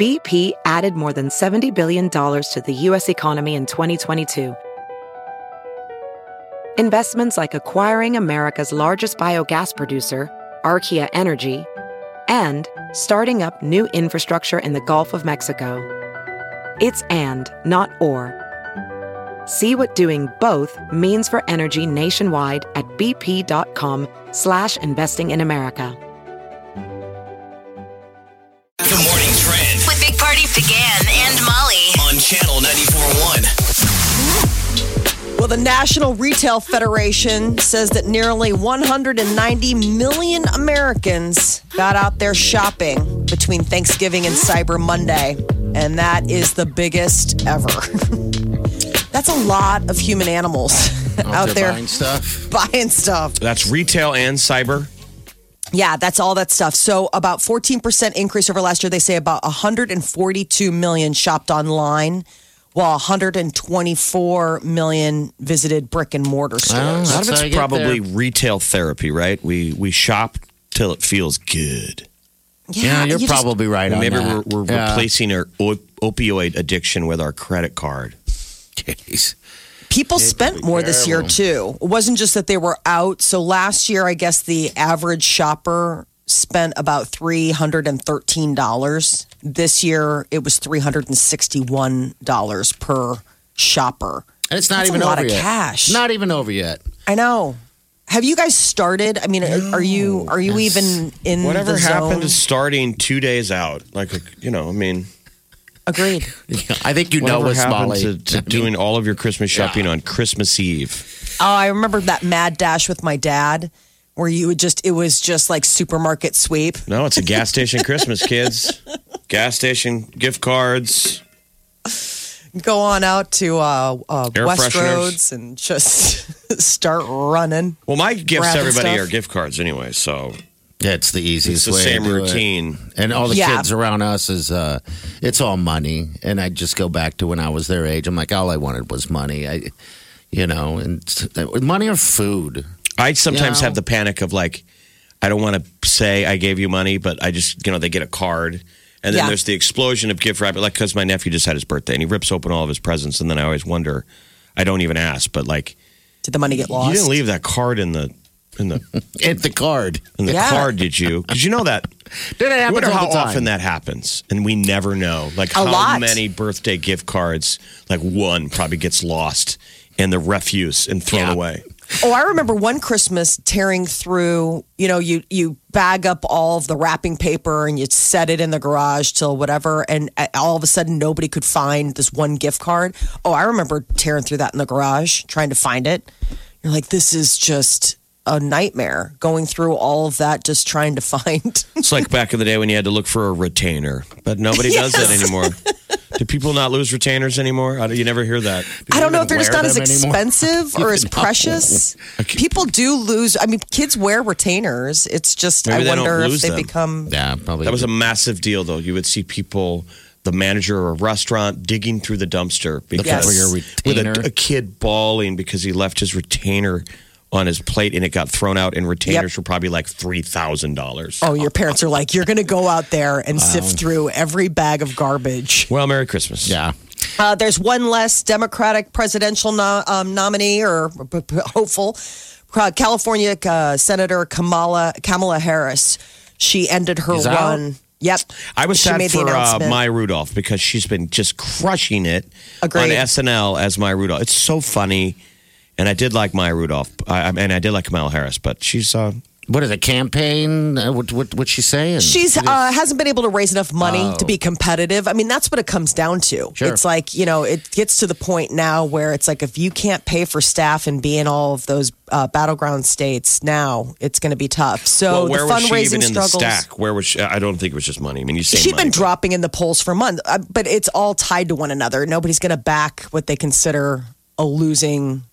BP added more than $70 billion to the U.S. economy in 2022. Investments like acquiring America's largest biogas producer, Archaea Energy, and starting up new infrastructure in the Gulf of Mexico. It's and, not or. See what doing both means for energy nationwide at bp.com/investing in America. The Morning Trend With Big Party began and Molly. on Channel 94.1. Well, the National Retail Federation says that nearly 190 million Americans got out there shopping between Thanksgiving and Cyber Monday, and that is the biggest ever. That's a lot of human animals out there buying stuff. buying stuff. That's retail and cyber. Yeah, that's all that stuff. So about 14% increase over last year. They say about 142 million shopped online, while 124 million visited brick and mortar stores. A lot of That's how it's you get probably there. retail therapy, right? We shop till it feels good. Yeah, you're you just- probably right on Maybe that. we're replacing our opioid addiction with our credit card. Jeez. People spent more this year too. It wasn't just that they were out. So last year, I guess the average shopper spent about $313. This year, it was $361 per shopper. And it's not That's even a lot over of yet. cash. Not even over yet. I know. Have you guys started? I mean, are you even in Whatever the zone? happened to starting 2 days out? Agreed. I think you know whatever what's happened Molly. to doing all of your Christmas shopping on Christmas Eve? Oh, I remember that mad dash with my dad, where it was just like supermarket sweep. No, it's a gas station Christmas, kids. Gas station gift cards. Go on out to Air Westroads and just start running. Well, my gifts to Grabbing everybody stuff. are gift cards anyway, so Yeah, it's the easiest it's the way same to do routine. It. And all the Yeah. kids around us is, it's all money. And I just go back to when I was their age. I'm like, all I wanted was money. Money or food. I sometimes You know? have the panic of like, I don't want to say I gave you money, but I just, they get a card. And then Yeah. there's the explosion of gift wrapping, like, because my nephew just had his birthday and he rips open all of his presents. And then I always wonder, I don't even ask, but like, Did the money get lost? you didn't leave that card in the At the card. Yeah. card, did you? Because you know that. Did it I happen wonder all how the time? often that happens, and we never know. Like how lot. many birthday gift cards, like one probably gets lost in the refuse and thrown Yeah. away. Oh, I remember one Christmas tearing through, you bag up all of the wrapping paper and you set it in the garage till whatever. And all of a sudden, nobody could find this one gift card. Oh, I remember tearing through that in the garage, trying to find it. You're like, this is just a nightmare going through all of that, just trying to find. It's like back in the day when you had to look for a retainer, but nobody does that anymore. Do people not lose retainers anymore? You never hear that. I don't know if they're just wear not as them anymore? expensive or as No. precious. People do lose. I mean, kids wear retainers. It's just, Maybe they I don't wonder if lose they them. become. Yeah, probably. That was a massive deal, though. You would see people, the manager of a restaurant, digging through the dumpster because for your with retainer. a kid bawling because he left his retainer on his plate and it got thrown out, and retainers were probably like $3,000. Oh, your parents are like, you're going to go out there and sift through every bag of garbage. Well, Merry Christmas. Yeah. There's one less Democratic presidential nominee or hopeful. California Senator Kamala Harris. She ended her She's out? run. Yep. I was She sad made the for announcement. Maya Rudolph because she's been just crushing it Agreed. on SNL as Maya Rudolph. It's so funny. And I did like Maya Rudolph. And I did like Kamala Harris, but she's... What is a campaign? What's she saying? She's hasn't been able to raise enough money to be competitive. I mean, that's what it comes down to. Sure. It's like, it gets to the point now where it's like if you can't pay for staff and be in all of those battleground states now, it's going to be tough. So where the was she fundraising even in the struggles. stack? Where was she? I don't think it was just money. I mean, you say She's money, been but- dropping in the polls for months, but it's all tied to one another. Nobody's going to back what they consider a losing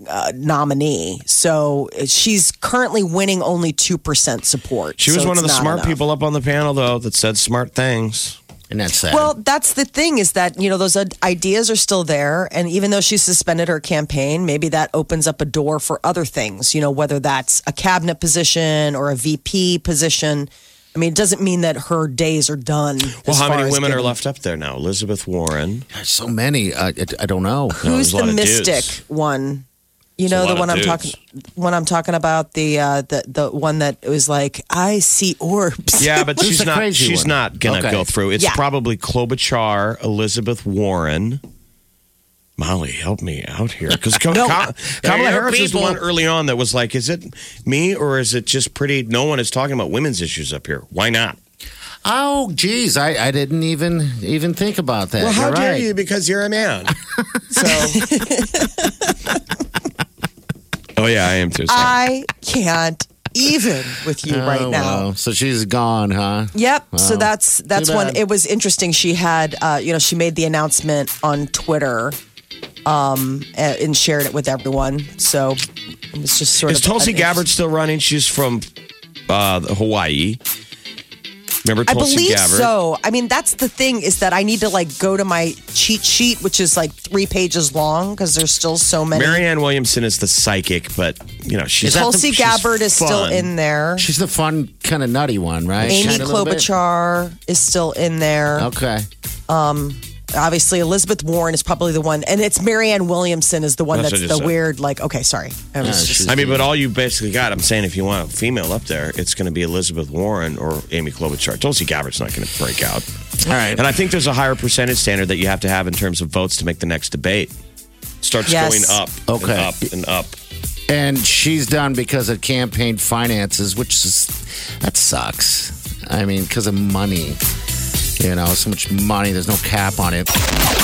nominee. So she's currently winning only 2% support. She was So one of the it's not smart enough. people up on the panel, though, that said smart things. And that's sad. Well, that's the thing is that, those ideas are still there. And even though she suspended her campaign, maybe that opens up a door for other things, whether that's a cabinet position or a VP position. I mean, it doesn't mean that her days are done. Well, how many women are left up there now? Elizabeth Warren. There's so many. I don't know. Who's there's a lot the of mystic dudes. one? You It's a know, the lot one of I'm dudes. talking about, the one that was like, I see orbs. Yeah, but Who's she's the not. crazy She's one? not gonna Okay. go through. It's Yeah. probably Klobuchar, Elizabeth Warren. Molly, help me out here, because Kamala Harris is the one early on that was like, "Is it me or is it just pretty?" No one is talking about women's issues up here. Why not? Oh, geez, I didn't even think about that. Well, how You're dare right. you? Because you're a man. So. Oh yeah, I am too. Sorry. I can't even with you right now. Well, so she's gone, huh? Yep. So Wow. that's Too one. bad. It was interesting. She had, she made the announcement on Twitter, and shared it with everyone. So it was just sort Is of. Tulsi Gabbard still running? She's from Hawaii. Remember I Tulsi believe Gabbard? so. I mean, that's the thing is that I need to like go to my cheat sheet, which is like 3 pages long because there's still so many. Marianne Williamson is the psychic, but she's Is that the- Tulsi she's Gabbard is still fun. in there. She's the fun, kind of nutty one, right? Amy Kinda a little bit. Klobuchar is still in there. Okay. Obviously, Elizabeth Warren is probably the one, and it's Marianne Williamson is the one That's that's what I the just said. weird. Like, okay, sorry, I was just. I mean, but all you basically got, I'm saying, if you want a female up there, it's going to be Elizabeth Warren or Amy Klobuchar. Tulsi Gabbard's not going to break out. All right. And I think there's a higher percentage standard that you have to have in terms of votes to make the next debate. Starts Yes. going up Okay. and up and up. And she's done because of campaign finances, that sucks. I mean, because of money. So much money. There's no cap on it.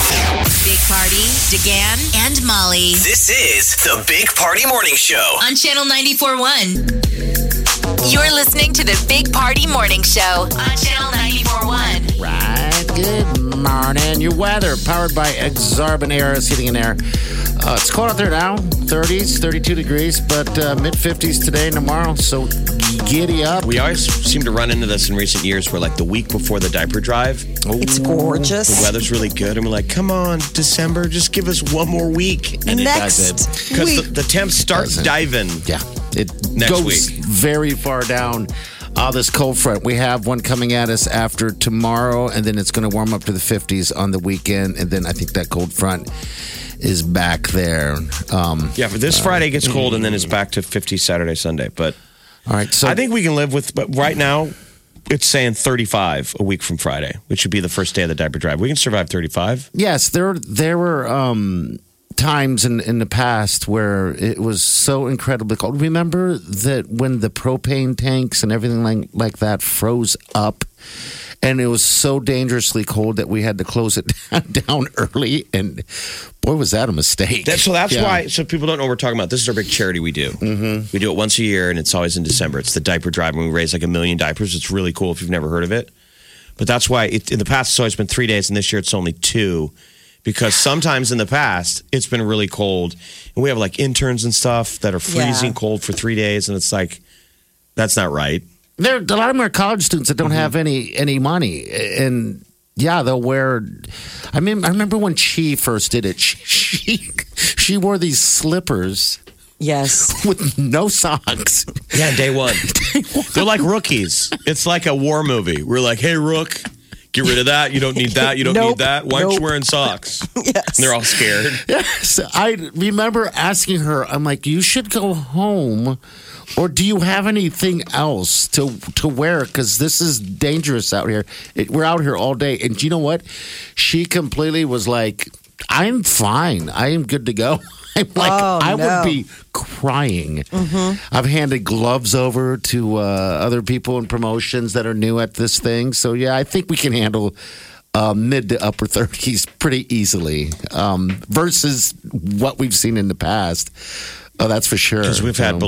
Big Party, DeGan, and Molly This is the Big Party Morning Show. on Channel 94.1. You're listening to the Big Party Morning Show on Channel 94.1. Right. Good morning. Your weather powered by Exarban Air Heating and Air. It's cold out there now. 30s, 32 degrees, but mid-50s today and tomorrow. So giddy up. We always seem to run into this in recent years where, like, the week before the diaper drive, It's gorgeous. the weather's really good. And we're like, come on, December, just give us one more week. And it Next does Because week. the temps start Doesn't. diving. Yeah, it Next goes week. very far down. This cold front, we have one coming at us after tomorrow, and then it's going to warm up to the 50s on the weekend, and then I think that cold front is back there. Yeah, for this Friday gets cold and then it's back to 50 Saturday, Sunday. But All right, so I think we can live with, but right now it's saying 35 a week from Friday, which would be the first day of the diaper drive. We can survive 35. yes, there were times in the past where it was so incredibly cold. Remember that when the propane tanks and everything like that froze up, and it was so dangerously cold that we had to close it down early. And boy, was that a mistake. That's Yeah. why, so people don't know what we're talking about. This is our big charity we do. Mm-hmm. We do it once a year, and it's always in December. It's the diaper drive, and we raise like 1 million diapers. It's really cool if you've never heard of it. But that's why in the past it's always been 3 days, and this year it's only 2. Because sometimes in the past it's been really cold, and we have like interns and stuff that are freezing cold for 3 days, and it's like, that's not right. There, a lot of them are college students that don't have any money, and yeah, they'll wear. I remember when she first did it. She wore these slippers Yes. with no socks. Yeah, day one. They're like rookies. It's like a war movie. We're like, hey, Rook, get rid of that. You don't need that. You don't Nope. need that. Why aren't you Nope. wearing socks? Yes. And they're all scared. Yes, I remember asking her. I'm like, you should go home, or do you have anything else to wear? Because this is dangerous out here. We're out here all day, and you know what? She completely was like, I'm fine. I am good to go. I'm like, I would be crying. I've handed gloves over to other people in promotions that are new at this thing. So, yeah, I think we can handle mid to upper 30s pretty easily versus what we've seen in the past. Oh, that's for sure. Because we've had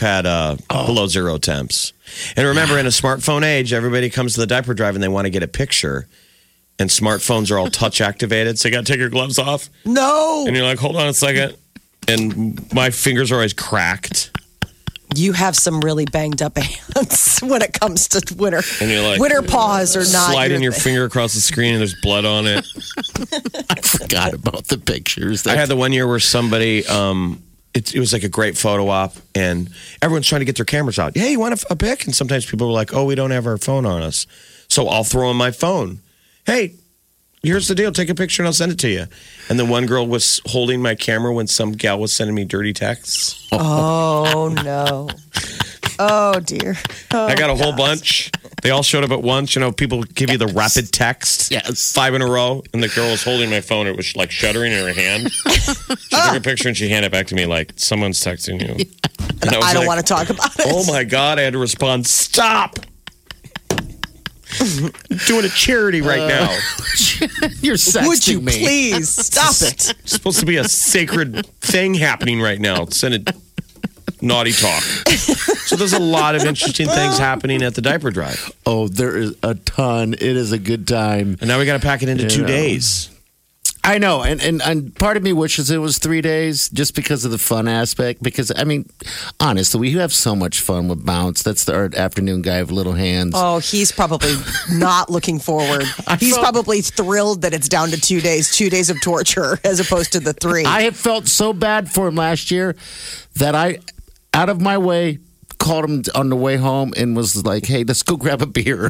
below zero temps. And remember, in a smartphone age, everybody comes to the diaper drive and they want to get a picture. And smartphones are all touch activated. So you got to take your gloves off. No. And you're like, hold on a second. And my fingers are always cracked. You have some really banged up hands when it comes to winter. And you're like, winter paws are not sliding your thing. finger across the screen and there's blood on it. I forgot about the pictures. I had the one year where somebody it was like a great photo op, and everyone's trying to get their cameras out. Hey, you want a pic? And sometimes people are like, oh, we don't have our phone on us. So I'll throw in my phone. Hey, here's the deal. Take a picture and I'll send it to you. And then one girl was holding my camera when some gal was sending me dirty texts. Oh, no. Oh, dear. Oh, I got a whole bunch. They all showed up at once. You know, people give you the rapid text. Yes. 5 in a row. And the girl was holding my phone. It was like shuddering in her hand. She took a picture and she handed it back to me like, someone's texting you. And I don't want to talk about it. Oh, my God. I had to respond, stop. I'm doing a charity right now. You're sexting Would you me. please stop it? It's supposed to be a sacred thing happening right now. Send it. Naughty talk. So there's a lot of interesting things happening at the diaper drive. Oh, there is a ton. It is a good time. And now we got to pack it into 2 days. I know, and part of me wishes it was 3 days just because of the fun aspect. Because, I mean, honestly, we have so much fun with Bounce. That's our afternoon guy with little hands. Oh, he's probably not looking forward. He's probably thrilled that it's down to 2 days, 2 days of torture as opposed to the 3. I have felt so bad for him last year that I, out of my way, called him on the way home and was like, hey, let's go grab a beer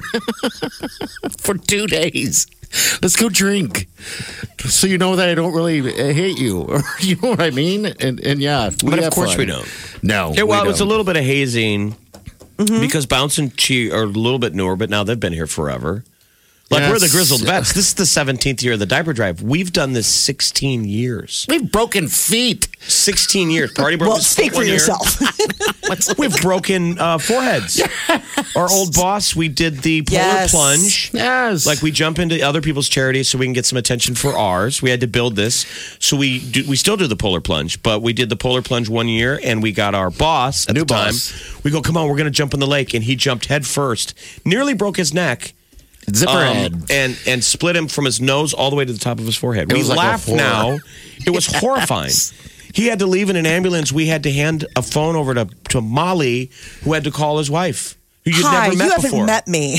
for 2 days. Let's go drink. So you know that I don't really hate you. Or you know what I mean? And yeah. But of course we don't. No. It was a little bit of hazing because Bounce and Chi are a little bit newer, but now they've been here forever. Like, we're the grizzled vets. This is the 17th year of the diaper drive. We've done this 16 years. We've broken feet. 16 years. Party broke his speak foot for one year. yourself. We've broken foreheads. Our old boss, we did the polar plunge. Yes. Like, we jump into other people's charities so we can get some attention for ours. We had to build this. So we still do the polar plunge, but we did the polar plunge 1 year, and we got our boss at the time. We go, come on, we're going to jump in the lake. And he jumped head first, nearly broke his neck. Zipper head. And split him from his nose all the way to the top of his forehead. It We was like laugh a horror. now. It was horrifying. He had to leave in an ambulance. We had to hand a phone over to Molly, who had to call his wife, who you'd Hi, never met you haven't before. met me.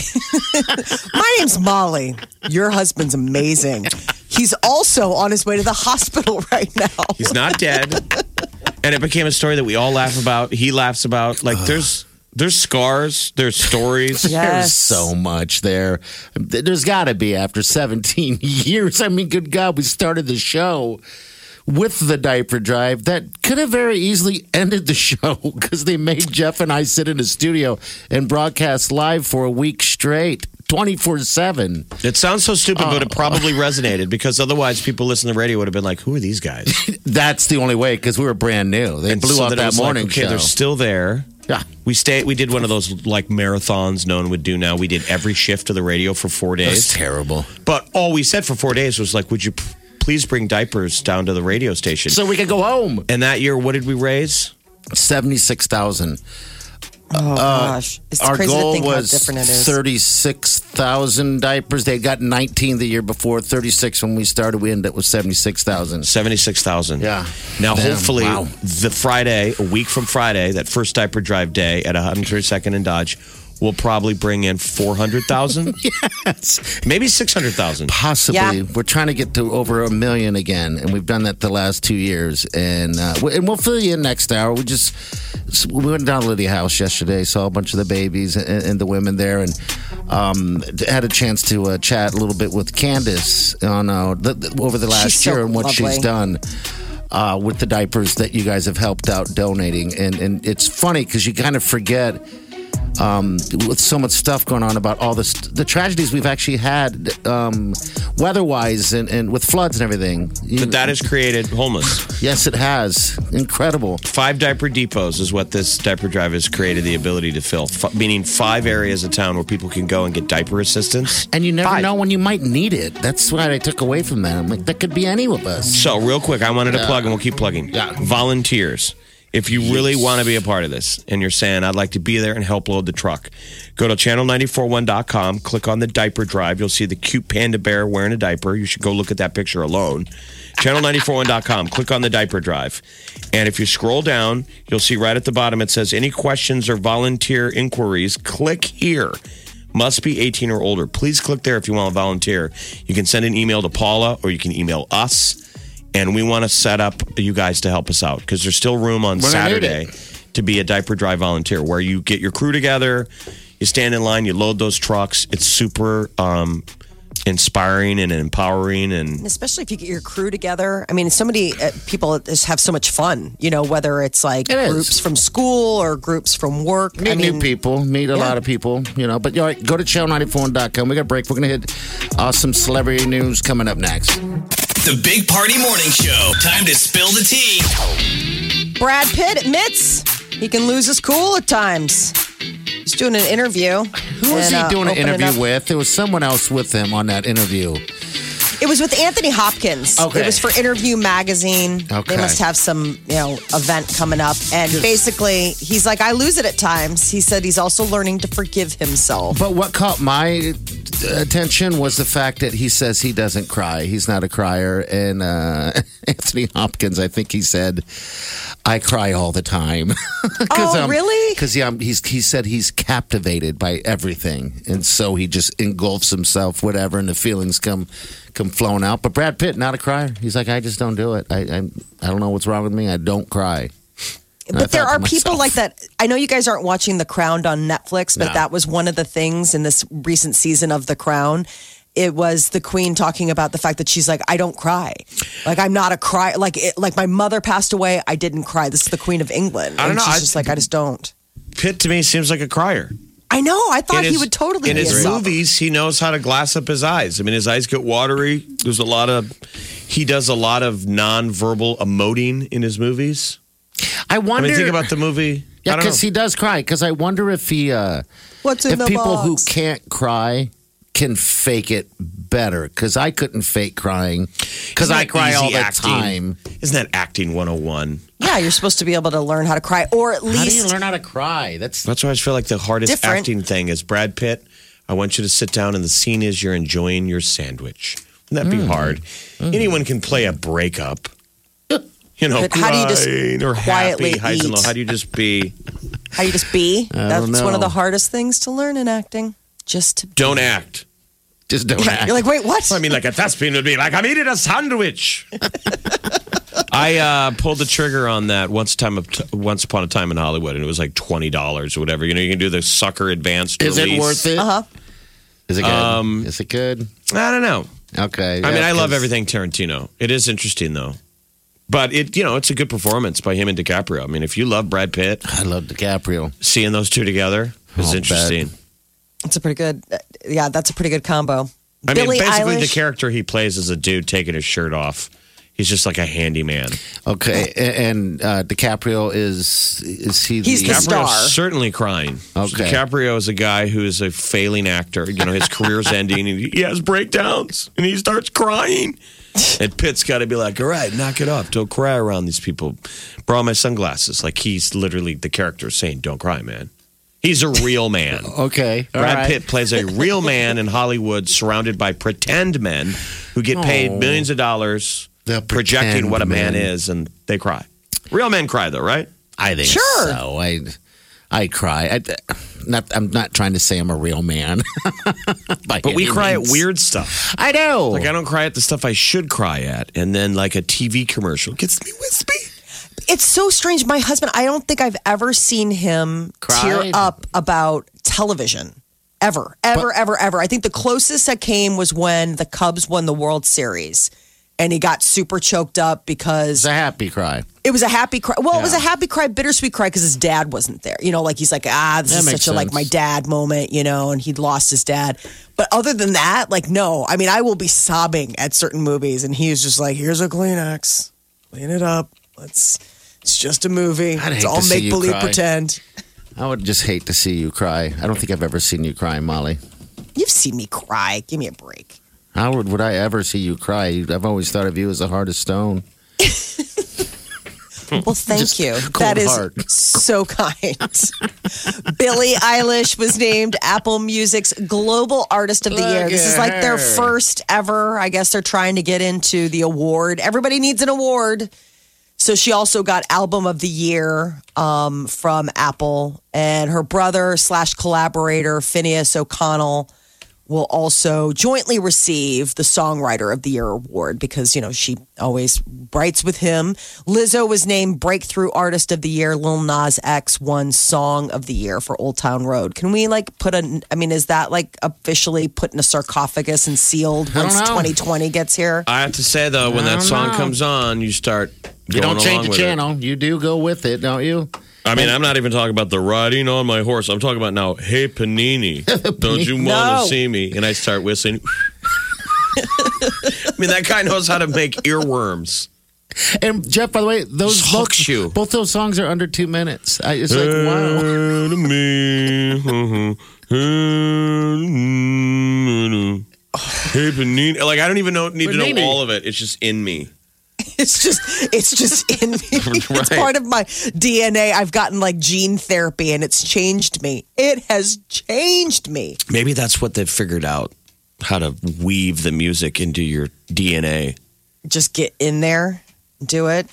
My name's Molly. Your husband's amazing. He's also on his way to the hospital right now. He's not dead. And it became a story that we all laugh about. He laughs about. Like, there's scars. There's stories. Yes. There's so much there. There's got to be after 17 years. I mean, good God, we started the show with the diaper drive that could have very easily ended the show because they made Jeff and I sit in the studio and broadcast live for a week straight. 24/7. It sounds so stupid, but it probably resonated because otherwise people listening to the radio would have been like, who are these guys? That's the only way because we were brand new. They blew so up then it that was like, morning okay, show. they're still there. Yeah. We did one of those like marathons no one would do now. We did every shift of the radio for 4 days. That's terrible. But all we said for 4 days was like, would you please bring diapers down to the radio station? So we could go home. And that year, what did we raise? 76,000. Oh, gosh. It's Our crazy to goal think how was different it is. 36,000 diapers. They got 19 the year before, 36 when we started. We ended up with 76,000. 76,000. Yeah. Now, Damn, hopefully, wow. the Friday, a week from Friday, that first diaper drive day at 132nd and Dodge, will probably bring in 400,000. Yes. Maybe 600,000. Possibly. Yeah. We're trying to get to over 1 million again, and we've done that the last 2 years. And we'll fill you in next hour. We went down to Lydia House yesterday, saw a bunch of the babies and the women there, and had a chance to chat a little bit with Candace on over the last She's so year and what lovely. she's done. With the diapers that you guys have helped out donating. And it's funny because you kind of forget with so much stuff going on about all the tragedies we've actually had weather-wise and with floods and everything. But that has created homeless. Yes, it has. Incredible. 5 diaper depots is what this diaper drive has created the ability to fill, meaning 5 areas of town where people can go and get diaper assistance. And you never 5. know when you might need it. That's what I took away from that. I'm like, that could be any of us. So, real quick, I wanted to plug, and we'll keep plugging. Yeah. Volunteers. If you really want to be a part of this and you're saying, I'd like to be there and help load the truck, go to channel941.com, click on the diaper drive. You'll see the cute panda bear wearing a diaper. You should go look at that picture alone. Channel941.com, click on the diaper drive. And if you scroll down, you'll see right at the bottom it says, any questions or volunteer inquiries, click here. Must be 18 or older. Please click there if you want to volunteer. You can send an email to Paula or you can email us. And we want to set up you guys to help us out because there's still room on We're gonna need Saturday to be a diaper drive volunteer where you get your crew together, you stand in line, you load those trucks. It's super inspiring and empowering, and especially if you get your crew together. I mean, so many people just have so much fun, whether it's like It is. groups from school or groups from work. Meet new people, meet a lot of people, But all right, go to channel94.com. We got a break. We're going to hit some celebrity news coming up next. The Big Party Morning Show. Time to spill the tea. Brad Pitt admits he can lose his cool at times. He's doing an interview. Who was he doing an interview with? There was someone else with him on that interview. It was with Anthony Hopkins. Okay. It was for Interview Magazine. Okay. They must have some, event coming up. And basically, he's like, I lose it at times. He said he's also learning to forgive himself. But what caught my attention was the fact that he says he doesn't cry. He's not a crier. And Anthony Hopkins, I think he said, I cry all the time. Really? Because he said he's captivated by everything. And so he just engulfs himself, whatever, and the feelings come flowing out. But Brad Pitt, not a crier. He's like, I just don't do it. I don't know what's wrong with me. I don't cry. But there are people like that. I know you guys aren't watching The Crown on Netflix, but that was one of the things in this recent season of The Crown. It was the Queen talking about the fact that she's like, I don't cry. Like, I'm not a cry. Like my mother passed away. I didn't cry. This is the Queen of England. I don't know. She's just like, I just don't. Pitt to me seems like a crier. I know. I thought he would totally in be his a sob. movies. He knows how to glass up his eyes. I mean, his eyes get watery. He does a lot of non-verbal emoting in his movies. I wonder. Think about the movie. Yeah, because he does cry. Because I wonder if he, What's in if the people box? who can't cry can fake it better. Because I couldn't fake crying. Because I cry all the time. Isn't that acting 101? Yeah, you're supposed to be able to learn how to cry, or at How do you least learn how to cry? That's why I just feel like the hardest Different. acting thing is Brad Pitt. I want you to sit down, and the scene is you're enjoying your sandwich. Wouldn't that be hard? Anyone can play a breakup. But how do you just crying or quietly happy, highs and lows. eat? How do you just be? How you just be. That's know. one of the hardest things to learn in acting. Just to Don't act. Just don't act. You're like, wait, what? I mean, like a thespian would be like, I'm eating a sandwich. I pulled the trigger on that once upon a time in Hollywood, and it was like $20 or whatever. You can do the sucker advanced Is release. it worth it? Uh-huh. Is it good? Is it good? I don't know. Okay. I mean, I love 'cause- everything Tarantino. It is interesting though, but it's a good performance by him and DiCaprio. I mean, if you love Brad Pitt, I love DiCaprio. seeing those two together is I'll interesting. It's a pretty good, that's a pretty good combo. I mean, Billie basically, the Eilish. character he plays is a dude taking his shirt off. He's just like a handyman. Okay, and DiCaprio is he? He's the DiCaprio's star. certainly crying. Okay. DiCaprio is a guy who is a failing actor. His career's ending, and he has breakdowns, and he starts crying. And Pitt's got to be like, all right, knock it off. Don't cry around these people. Borrow my sunglasses. Like, he's literally the character saying, don't cry, man. He's a real man. Okay, all Brad right. Pitt plays a real man in Hollywood surrounded by pretend men who get paid millions of dollars The projecting pretend what a man men. is, and they cry. Real men cry, though, right? I think Sure. so. I cry. I'm not trying to say I'm a real man. But we cry at weird stuff. I know. Like, I don't cry at the stuff I should cry at. And then, like, a TV commercial gets me wispy. It's so strange. My husband, I don't think I've ever seen him tear Cried? up about television. Ever. I think the closest that came was when the Cubs won the World Series. And he got super choked up because It's a happy cry. it was a happy cry. Well, it was a happy cry, bittersweet cry because his dad wasn't there. He's like, this That is makes such a like sense. my dad moment, and he'd lost his dad. But other than that, like, no. I mean, I will be sobbing at certain movies, and he's just like, here's a Kleenex, clean it up. It's just a movie. I'd It's hate all to see make you believe cry. pretend. I would just hate to see you cry. I don't think I've ever seen you cry, Molly. You've seen me cry. Give me a break. How would I ever see you cry? I've always thought of you as a heart of stone. Well, thank Just you. cold That is heart. so kind. Billie Eilish was named Apple Music's Global Artist of the Year. Look This is at like their her. first ever. I guess they're trying to get into the award. Everybody needs an award. So she also got Album of the Year from Apple. And her brother / collaborator, Phineas O'Connell, will also jointly receive the Songwriter of the Year award because, she always writes with him. Lizzo was named Breakthrough Artist of the Year. Lil Nas X won Song of the Year for Old Town Road. Can we is that officially put in a sarcophagus and sealed once 2020 gets here? I have to say, though, when that song comes on, you start You going don't change the with channel. It. You do go with it, don't you? I mean, I'm not even talking about the riding on my horse. I'm talking about now, hey, Panini, don't you want to see me? And I start whistling. I mean, that guy knows how to make earworms. And Jeff, by the way, both those songs are under 2 minutes. It's like, wow. Hey, Panini. Like, I don't even need to know all of it. It's just in me. It's just in me. It's part of my DNA. I've gotten gene therapy and it's changed me. It has changed me. Maybe that's what they've figured out, how to weave the music into your DNA. Just get in there, do it.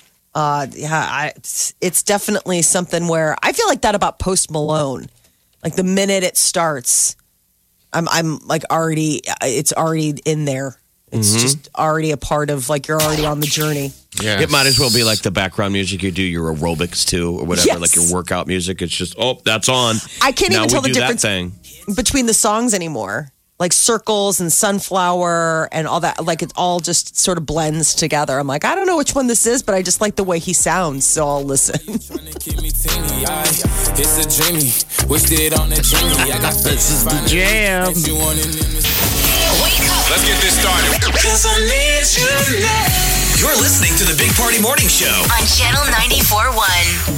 It's definitely something where I feel like that about Post Malone. Like the minute it starts, I'm already, it's already in there. It's just already a part of you're already on the journey. Yeah, it might as well be like the background music you do your aerobics to or whatever, like your workout music. It's just that's on. I can't even tell the difference between the songs anymore. Like Circles and Sunflower and all that. Like it all just sort of blends together. I'm like, I don't know which one this is, but I just like the way he sounds, so I'll listen. It's a dreamy. This is the jam. Wake up. Let's get this started. You're listening to the Big Party Morning Show On Channel 94.1.